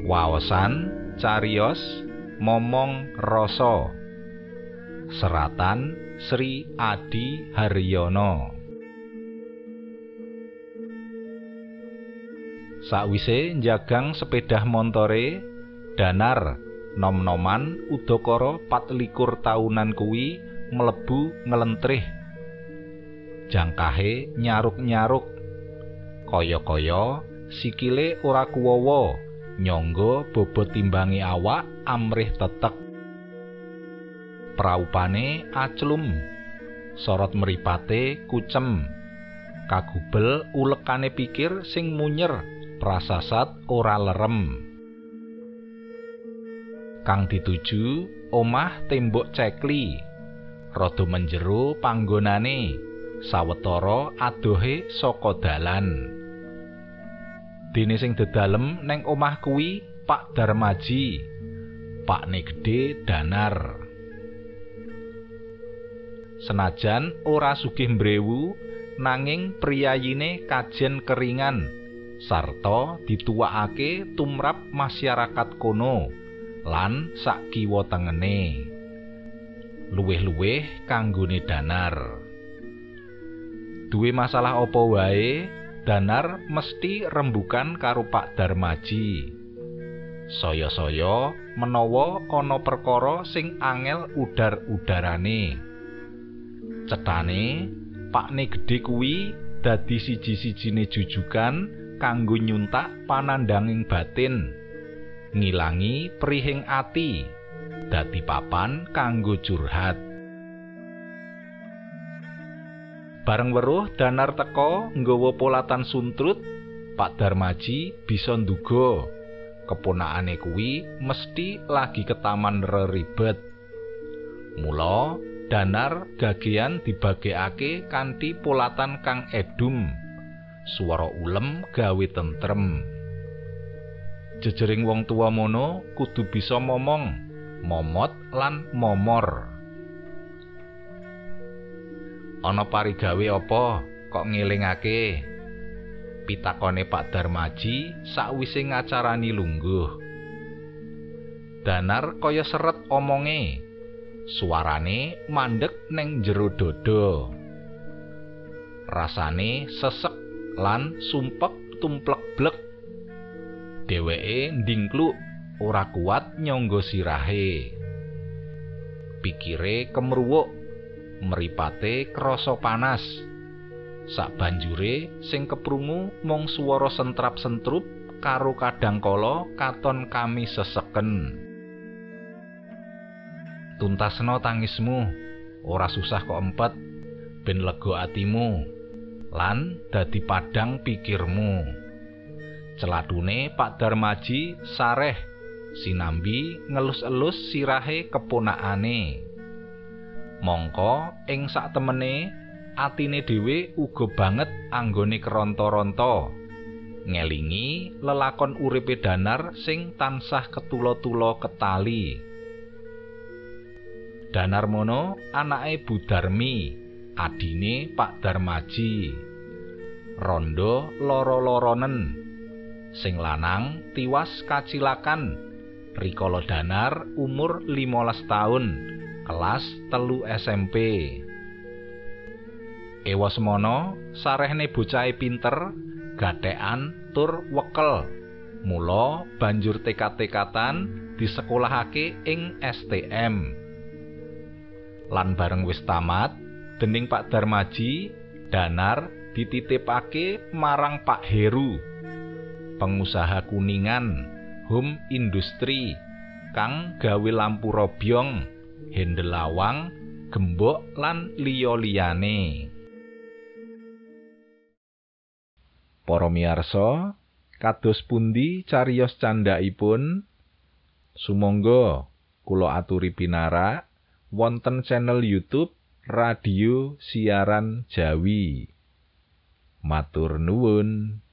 Waosan cariyos momong rasa. Seratan Sri Adi Haryono. Sakwise njagang sepeda montore, Danar nom-noman udakara 24 taunan kuwi mlebu nglentrih. Jangkahe nyaruk-nyaruk. Kaya-kaya sikile ora kuwawa, nyangga bobot timbangi awak amrih tetek. Praupane aclum, sorot mripate kucem. Kagubel ulekane pikir sing munyer, prasasat ora lerem. Kang dituju omah tembok cekli, rada menjero panggonane, sawetara adohe saka dalan. Dene sing dedalem neng omah kuwi Pak Darmaji, pakne gedhe Danar. Senajan ora sugih mbrewu, nanging priyayine kajen keringan, sarta dituwakake tumrap masyarakat kono lan sak kiwa tengene. Luwih-luwih kanggone Danar. Duwe masalah apa wae, Danar mesti rembugan karo Pak Darmaji. Saya-saya menawa ana perkara sing angel udar-udarane. Cethane pakne gedhe kuwi dadi siji-sijine jujugan kanggo nyuntak panandanging batin, ngilangi prihing ati, dadi papan kanggo curhat. Bareng weruh Danar teka nggawa polatan suntrut, Pak Darmaji bisa nduga keponakane kuwi mesti lagi ketaman reribet. Mula Danar gagean dibagekake kanthi polatan kang edum, swara ulem gawe tentrem. Jejering wong tuwa mono kudu bisa momong, momot lan momor. Ana parigawe apa kok ngelingake? Pitakone Pak Darmaji sakwise ngacarani lungguh. Danar kaya seret omonge, suarane mandeg neng jero dada. Rasane sesek lan sumpek tumplek-blek. Dheweke ndingkluk ora kuat nyangga sirahe. Pikire kemruwuk, mripate krasa panas. Sabanjure sing keprungu mung swara sentrap-sentrup karo kadangkala katon kami seseken. Tuntasna tangismu, ora susah kok empet, ben lega atimu, lan dadi padhang pikirmu. Celadune Pak Darmaji sareh, sinambi ngelus-elus sirahe keponakane. Mongko ing sak temene atine dhewe uga banget anggone keronta-ronta, ngelingi lelakon uripe Danar sing tansah ketula-tula ketali. Danar mono anake Budarmi, adine Pak Darmaji. Rondo loro-loronen, sing lanang tiwas kacilakan rikala Danar umur 15 taun, kelas 3 SMP. Ewasmana sarehne bocahe pinter, gathekan tur wekel. Mula banjur tekad-tekatan disekolahake ing STM. Lan bareng wis tamat, dening Pak Darmaji, Danar dititipake marang Pak Heru, pengusaha kuningan, home industri, kang gawe lampu robyong, hendel lawang, gembok lan liya-liyane. Para miyarsa, kados pundi cariyos candhaipun? Sumangga kula aturi pinarak wonten channel YouTube Radio Siaran Jawi. Matur nuwun.